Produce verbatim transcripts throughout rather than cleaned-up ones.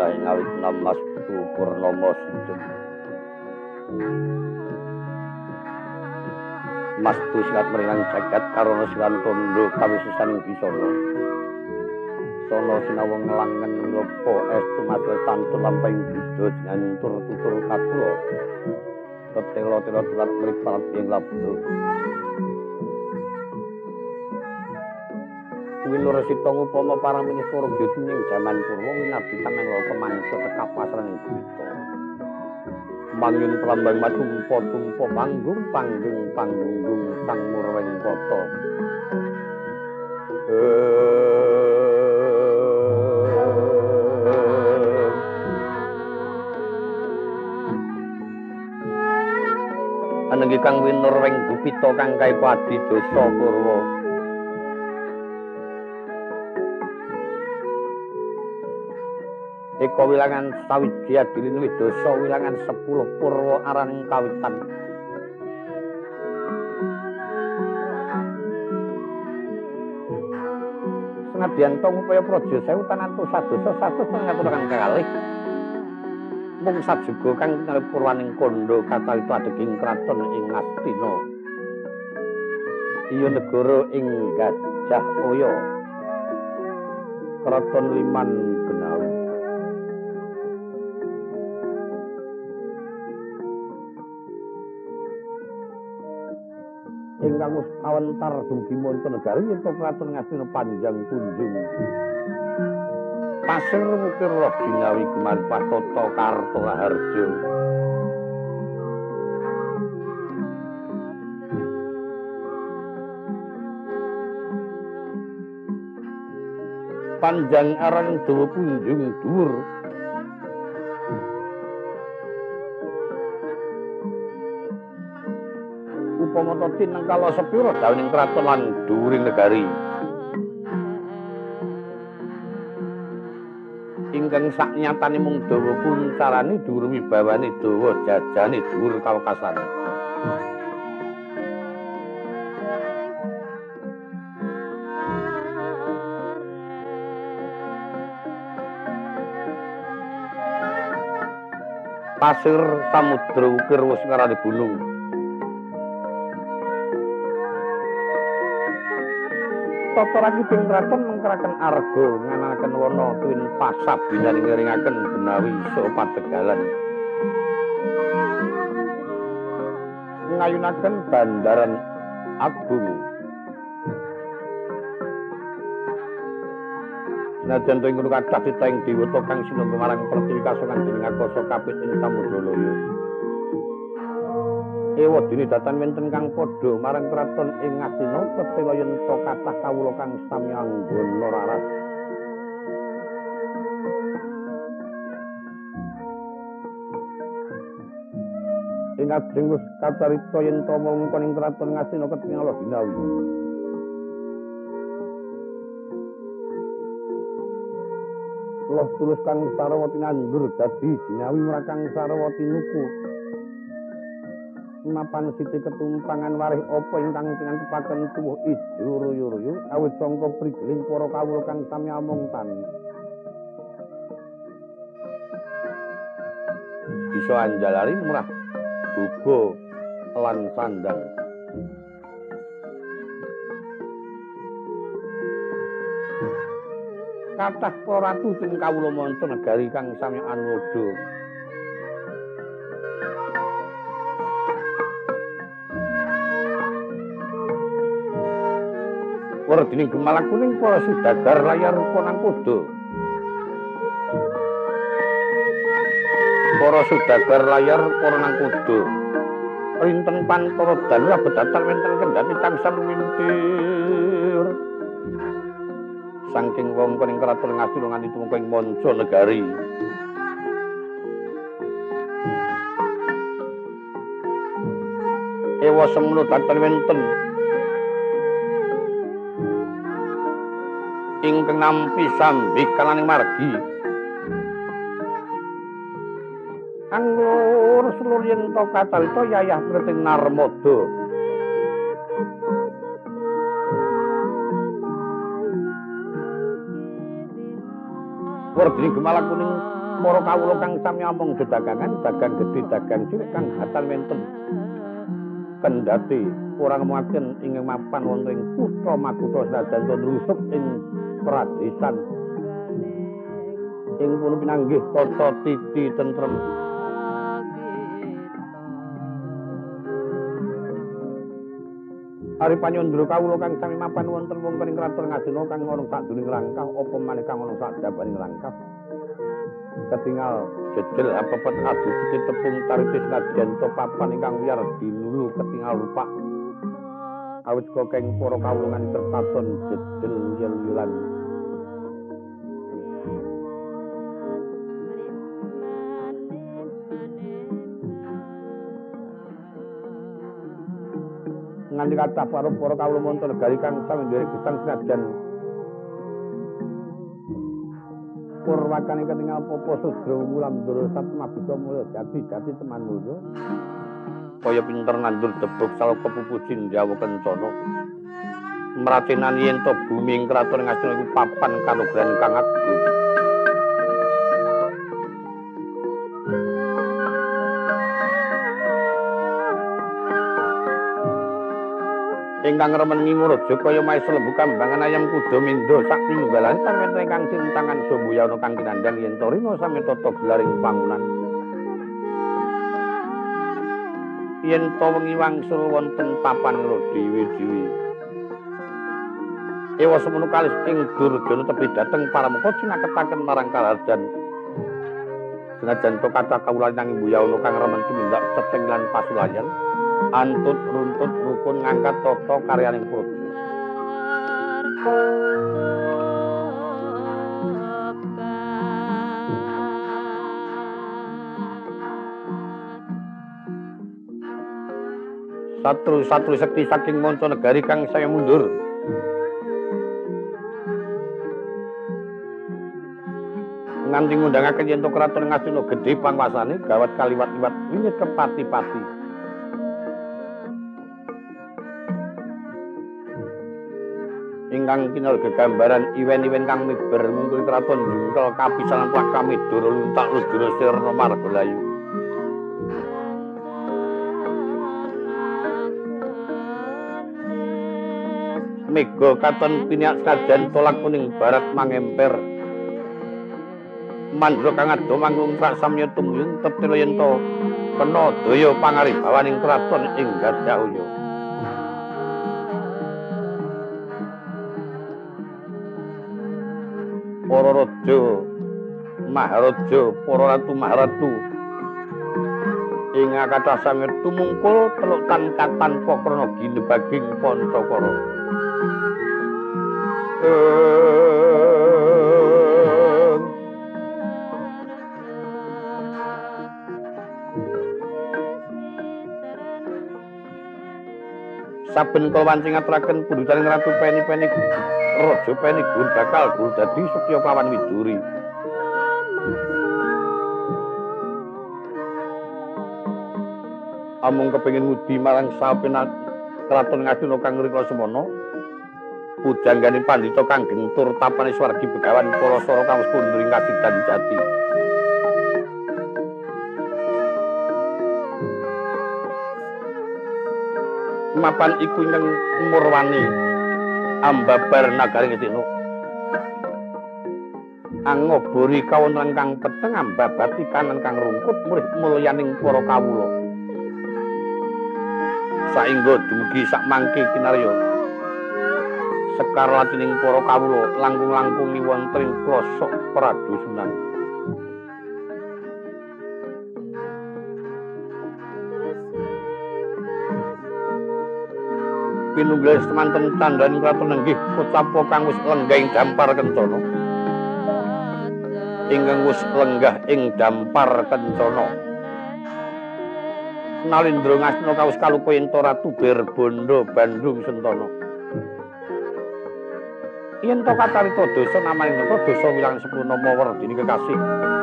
ing awit namastu purnama sidhem mastu silat meringang jagat karana silan tondo kawisesaning bisana sono sinawung langen lopo estu matur santun lampahing buddha jantur tutur katulo tetelo-telo telat mripat ing labdo Winur Sita upama paramining Surabaya ing jaman purwa winabdi tamenglo pemangsa tekap pasraning Buta. Mangyun pelambang matumpa-tumpa panggung panggung panggung sang murweng kota. Anenggi kang winur weng Gupita kang kae padi dosa purwa. Eka wilangan sawiji adilin widosa wilangan sepuluh purwa araning kawitan. Senadyan to upaya praja sewu tanantu sadosa satus ngaturaken kalih. Mung sajuga kang purwaning kandha katawita adeging kraton ing Astina. Iya negara ing Gajah Oya. Kraton Liman Benawi. Ingkang wis kawentar dumugi Mancanegari ento kraton Ngastina panjang tunjung. Pasir mukir roh jinawi gemar patata karta harja. Panjang aran dawa punjung dhuwur. Upama ta tinengkala sepira dawaning kraton lan dhuwuring negari. Ingkang saknyatane mung dawa kuncarane dhuwur wibawane dawa jajane dhuwur kawekasan. Pasir samudra ukir wis ngarani gunung. Tata rakiping kraton mengkeraken arga nganakaken wana tuwin pasab binaring ngringaken Benawi saha Pategalan. Ngayunaken Bandaran Agung. Senajan to ing ngono kathah titah ing dewata kang sinengga marang Pertiwi kasongan dening Akasa kapit ing Samudalaya. Ewa dene datan wenten kang padha marang kraton ing Ngastina tetela yen to kathah kawula kang sami anggana raras. Ing ajeng wis kacarita yen to wewengkon ing kraton Ngastina ketingal binawi. Loh tulus kang Sarawati nandur dadi jinawi mrakang Sarawati nuku. Mapan siti ketumpangan warih apa ingkang tinantepaken tuwuh ijo ruyu-ruyu awit sangka prigeling para kawula kang sami amung tani. Bisa anjalari murah buga lan sandang. Kathah para ratu ing kawula Mancanegari kang sami anuwada. Werdine gemalang kuning para sudagar layar ponang kuda. Para sudagar layar ponang kuda. Rinten pantara dalu abedatan wenten kendhati tansah lumintir. Saking wewengkon ing kraton Ngastina nganti tumeka ing Mancanegari. Ewa semulu datan wenten ingkang nampi sambi kalaning margi. Anggur seluruh yen to kacawita yayah mriting Narmada. Werdine gemalang kuning para kawula kang sami amung dedagangan dagang gedhe dagang cilik kang hatal wonten kendhati ora ngemaken ing mapan wonten ing kutha makutha senajan nrusup ing pradesan ing pun pinanggih tata titi tentrem Ari panyandra kawula kang sami mapan wonten wonten ing kraton Ngastina kang ana sadurunge langkah apa maneh kang ana sadabaning langkah ketingal jejel apepet adu sithik tepung taritis nadyan to papan ingkang wiyar dinulu ketingal rupak awit kokeng para kawulungan terpaton jejel yel-yelan nganti kathah para para kawula wonten negari kang sami nderek gesang senajan purwakane ketingal popo sudra wulam ndara satmabita mulya jati jati teman mulya kaya pinter nandur debuk saloka pupujin jawa kencana mratenan yen to bumi ing kraton Ngastina iku papan kanugrahan kang agung ingkang remen ngimuraja kaya maesra lembu kambangan ayam kuda mindo sak pinunggalan sareng ingkang sintangan Sambuyana kang kinandhang yen to rina sami tata gelaring pangunan yen to wengi wangsul wonten papan dewi-dewi ewa semono kalis ing Durjana tebih dhateng parameka sinaketaken marang kalarjan senajan to kathah kawula nanging Mbuyana kang remen tumindak ceceng lan pasulayan antut runtut rukun ngangkat tata karyaning praja satru-satru sekti saking manca negari kang saya mundur nganti ngundangaken yen to kraton Ngastina gedhe pangwasane gawat kaliwat-liwat wiwit kepati-pati ingkang kinal gegambaran iwen-iwen kang miber mungkul kraton jungkel kapisanan plakami doro luntak ludura sirna margalayu mega katon piniak sajan tolak kuning barat mangemper mandra kang ado manggung rak samya tumyun tetela yen to kena daya pangaribawaning kraton ing Gadawya para raja maharaja para ratu maharatu ing kathah sami tumungkul teluk tan-katan pakrana ginebaging Pancakara saben kawancing ngaturaken pundhutaning ratu peni-peni raja peni gur bakal gur dadi Setya Pawan Widuri amung kepengin ngudi marang sapenak kraton Ngastina kang rikala semana pujangganing pandhita kang gentur tapane swargi begawan para sara kang wis kunduring kadidan jati mapan iku ingkang murwani ambabar nagari Ngastina angobori kawontenan kang peteng ambabati kanan kang rungkut murih mulyaning para kawula saengga dumugi sak mangke kinarya sekar latining para kawula langkung-langkungi wonten ing plosok pradosunan pinunggal semanten tandhaning kraton nenggih Kocapa kang wis lenggah ing dampar kencana ingkang wis lenggah ing dampar kencana Nalindra Ngastina kawis kaluka yen to Ratu Berbanda Bandung Sentana yen to kacarita dosa namaning napa dosa wilang sepuluh nama werdini kekasih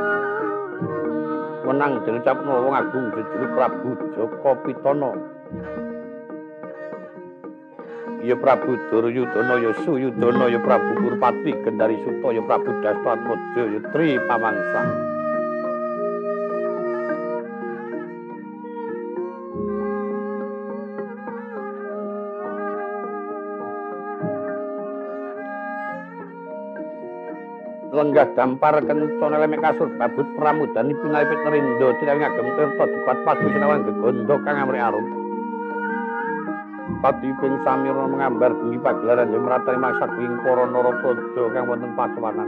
wenang diucapna wong agung jejuluk Prabu Jaka Pitana ya Prabu Duryudana ya Suyudana ya Prabu Kurpati Gendari Suta ya Prabu Dasratmaja ya Tri Pamangsa lenggah dampar kencana lemek kasur babut pramudani pinalipit nerindo cinawi ngagem tirta dipat padu sinawan gegondo kang amri arum patiping samirna mengambar bengi pagelaran yang meratani maksa kuing para narapraja kang wonten pacuanan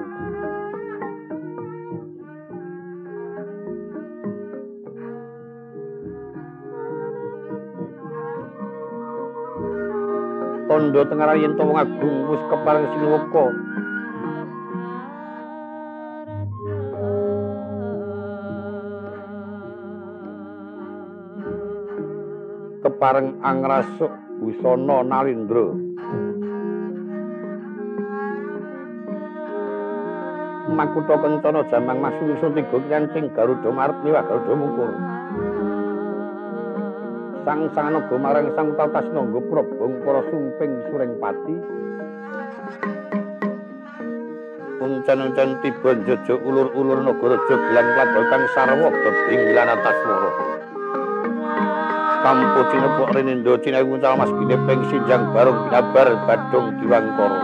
tondo tengah yen to wong agung wis kepareng sinuwaka kepareng angrasuk busana nalindra makutha kencana jamang masungsun tiga nyancing garuda marep liwat garuda mungkur sang sanganaga marang sang tatasna nggo probong para sumping suring pati uncen-uncen tiba njojo ulur-ulur nagaraja gelang kladokang sarwa bebing lan ataswara kampu cinepuk rinindo cinawi nguncal mas ginepeng sinjang barung binabar badung diwangkara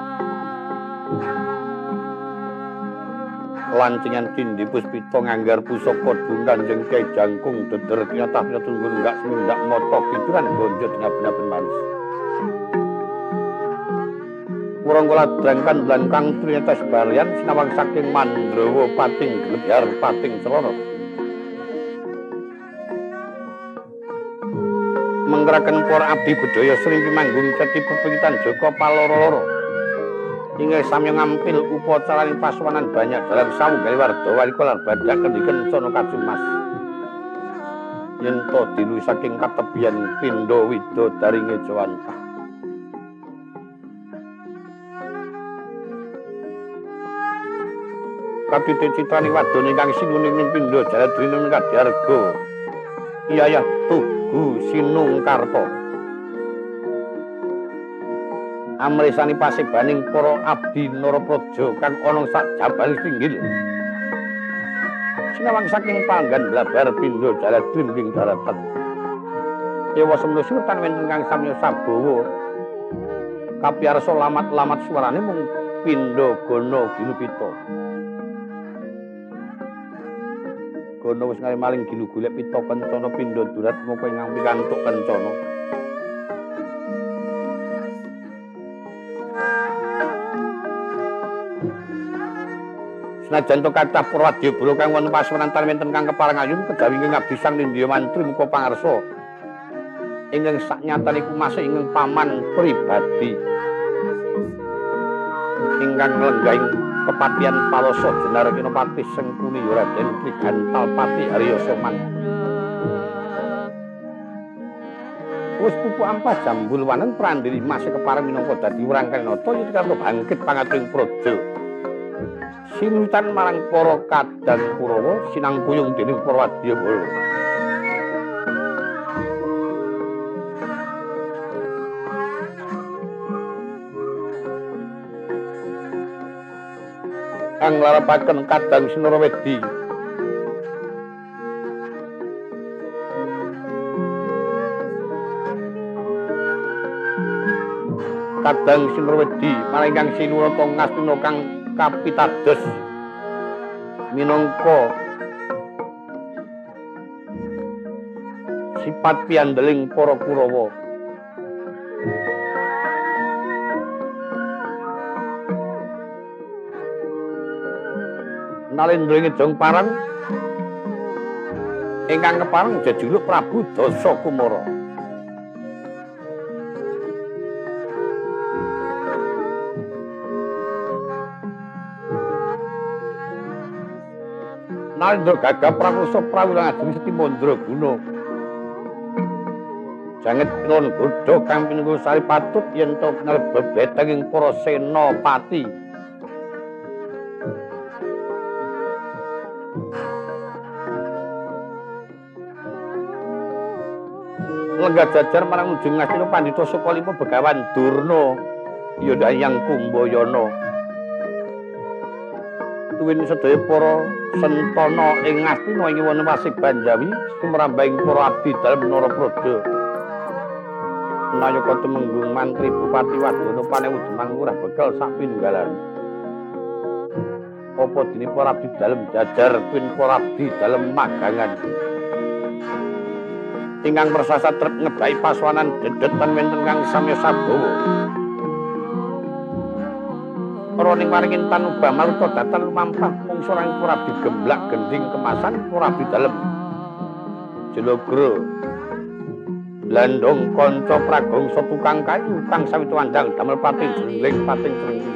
lancingan cindi puspita nganggar pusaka dungan jeng Kyai Jangkung deder kinatah pinatunggun enggak semendak mata pituran gonjo dengap-denapen manis Purangkala drangkan lan kang trinetes barian sinawang saking Mandrawa pating glebyar pating celana menggerakan para abdi budaya sering pimanggung ceti pepengitan Joko Paloro-loro inggih samya ngampil upacaraning pasuwanan banyak dalam sawunggali warda walika lan badak kendhiken sono kacumas yen to dilu saking katebian pindha widadaringe Jawantah katite citrani wadon ingkang sinuning pindha jaladrina kadharga iyayah Tugu Sinungkarta amresani pasibaning para abdi narapraja kang ana sak jabal pinggil sinawang saking panggan blabar pindha jaladrining daratan dewa semana sultan wenten kang samya sabawa kapiyarsa lamat-lamat suarane mung pindha gana ginupita gana wis ngali maling ginu golek pita kencana pindha durat moko ingkang pikantuk kencana senajan to kathah para wadyabala kang wonten pasuwanan wonten kang kepareng ayun kejawi ingkang abdi sang Nindya mantri muka pangarsa ingkang saknyatanipun masih ingkang paman pribadi ingkang lenggahing kepatian Paloso Jenar Kinopati Sengkuni Raden Trigantalpati Harya Soman wis pupu ampah jambul wanen prandiri masih kepareng minangka dadi Wrangkenata yen karep bangkit pangaturing praja sinutan marang para kadang Kurawa sinangkuyung dening para wadyabala kang larepaken kadang Sinarawedi kadang Sinarawedi marang kang Sinurata Ngastina kang kapitados minangka sipat piandeling para Kurawa Nalendra Ngedong Parang ingkang kepareng jejuluk Prabu Dasa Kumara Nalendra gagah pramusa prawulang ajeng Seti Mandraguna janget nun godha kang pinunggu sari patut yen to bebeteng para senapati lenggah jajar marang ujung Ngastina Pandhita Sukalima Begawan Durna ya Dayang Kumbayana tuwin sedaya para sentana ing Ngastina ing wonten Wasik Banjawi sumrambahing para abdi dalem Narapraja Nayaka Tumenggung Mantri Bupati Wadana Panewuh Demang Lurah Begal sak pinunggalan apa dene para abdi dalem jajar pin para abdi dalem magangan ingkang persasa trep ngebai paswanan dedetan wenten kang samya sabawa para ning waringin tanubah maluta datan lumampah mungsuh ing para abdi gemblak gending kemasan para abdi dalem jelogro landong kanca pragongsa tukang kayu kang sawitu andang damel pating jengling pating jengling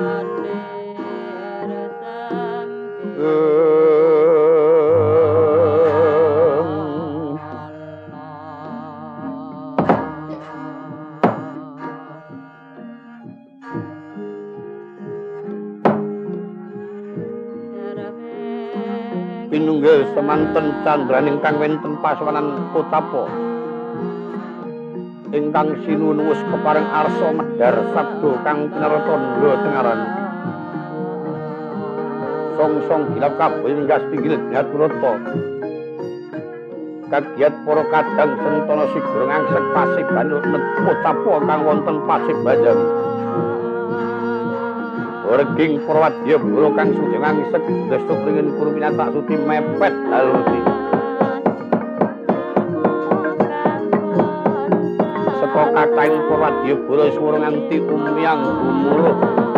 pinunggil semanten candraning kang wenten paswanan Kotapa ingkang sinuwun wis kepareng arsa medhar sabda kang pinarata ndra tengaran song-song gilap kabeh ninggas tinggil Gaturata kagiat para kadang sentana sigurung angsek pasiban Kotapa kang wonten Pasibanjan reging Prawadya Bala kang sujeng angsek desuk ringin kurmina tak suti mepet halusi saka kathahing Prawadya Bala swara nganti umyang gumuruh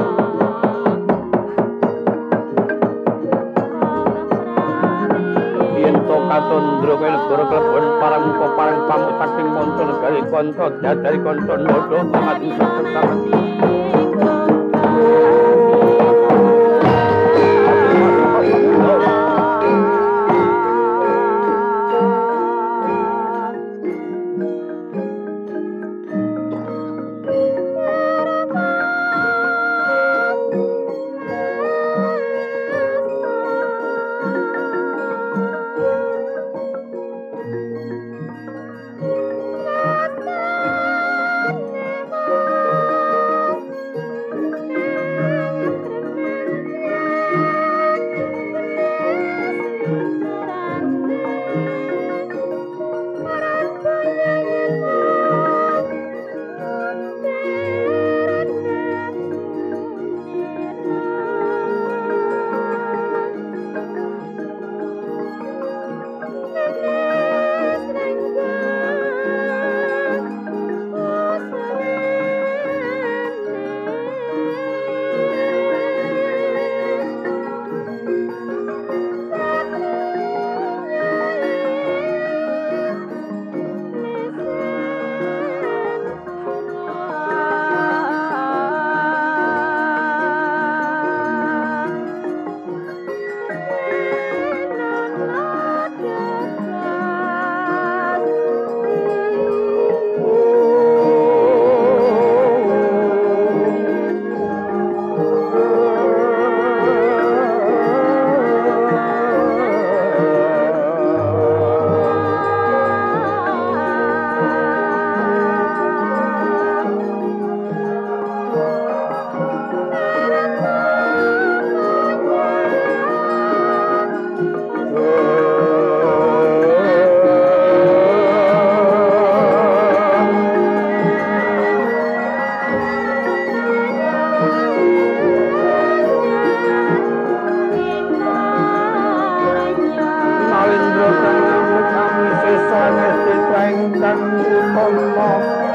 yen to katandra kaya negara klebon parang muka parang pamuk saking kanca negari kanca jajari kanca ndodho pamati saksakan Kang utama